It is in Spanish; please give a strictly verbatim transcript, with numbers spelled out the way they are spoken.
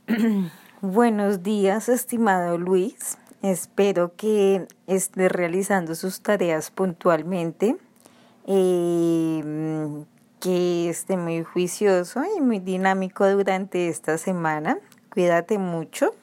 Buenos días, estimado Luis. Espero que esté realizando sus tareas puntualmente, eh, que esté muy juicioso y muy dinámico durante esta semana. Cuídate mucho